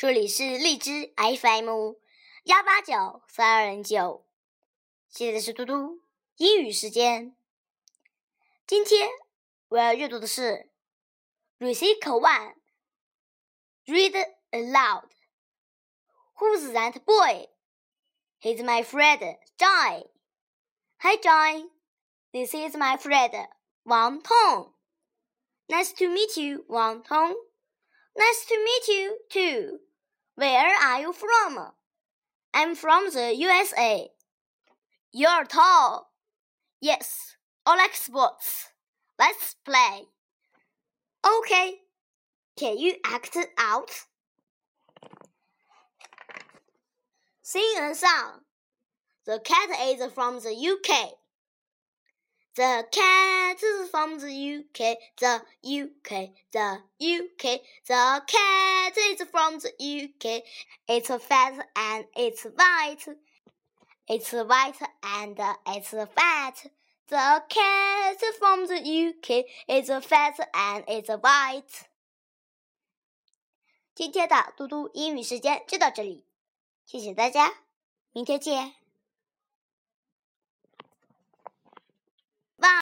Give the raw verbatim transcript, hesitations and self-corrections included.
这里是荔枝 F M 幺八九三二零九，现在是嘟嘟英语时间。今天我要阅读的是 Recital one Read aloud. Who's that boy? He's my friend, Joy. Hi, Joy. This is my friend, Wang Tong. Nice to meet you, Wang Tong. Nice to meet you, too. Where are you from? I'm from the U S A. You're tall. Yes, I like sports. Let's play. Okay. Can you act out? Sing a song. The cat is from the U K. The cat is from the U K, the U K, the U K. The cat is from the U K. It's fat and it's white. It's white and it's fat. The cat is from the U K. It's fat and it's white. 今天的嘟嘟英语时间就到这里，谢谢大家，明天见。